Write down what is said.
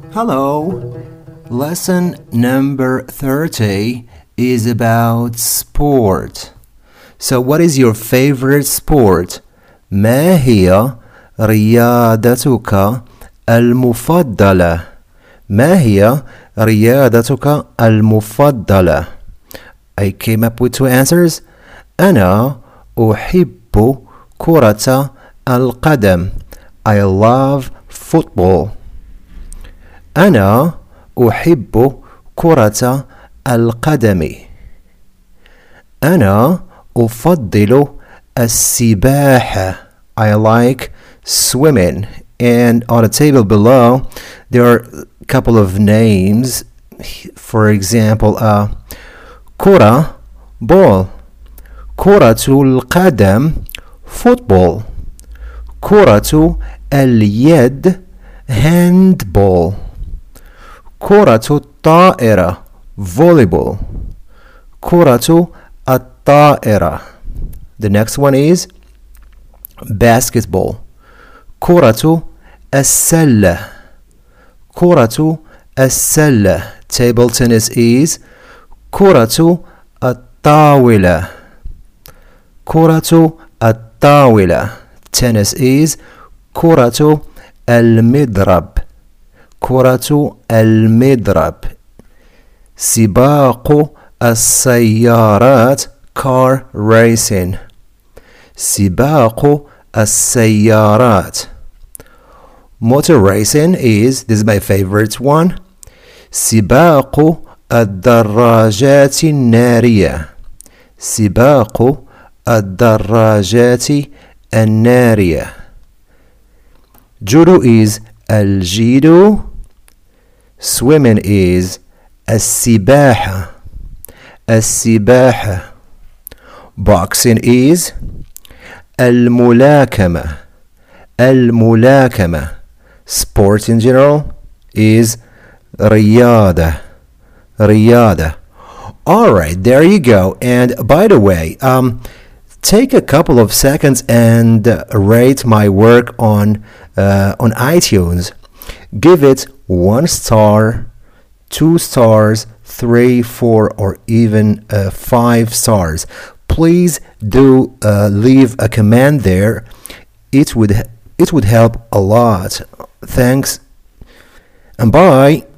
Hello. Lesson number 30 is about sport. So what is your favorite sport? ما هي رياضتك المفضلة؟ ما هي رياضتك المفضلة؟ I came up with two answers. أنا أحب كرة القدم. I love football. أنا أحب كرة القدم. أنا أفضل السباحة. I like swimming. And on the table below, there are a couple of names. For example, كرة ball, كرة القدم football, كرة اليد handball, كرة الطائرة volleyball, كرة الطائرة. The next one is basketball. كرة السلة. كرة السلة. Table tennis is كرة الطاولة. كرة الطاولة. Tennis is كرة المضرب. كرة المضرب. سباق السيارات car racing. سباق السيارات. Motor racing is, this is my favorite one, سباق الدراجات النارية. سباق الدراجات النارية. Judo is الجيدو. Swimming is السباحة. السباحة. Boxing is الملاكمة. الملاكمة. Sport in general is رياضة. رياضة. Alright, there you go. And by the way, take a couple of seconds and rate my work on iTunes. Give it 1 star, 2 stars, 3, 4, or even 5 stars. Please do leave a comment there. It would help a lot. Thanks and bye.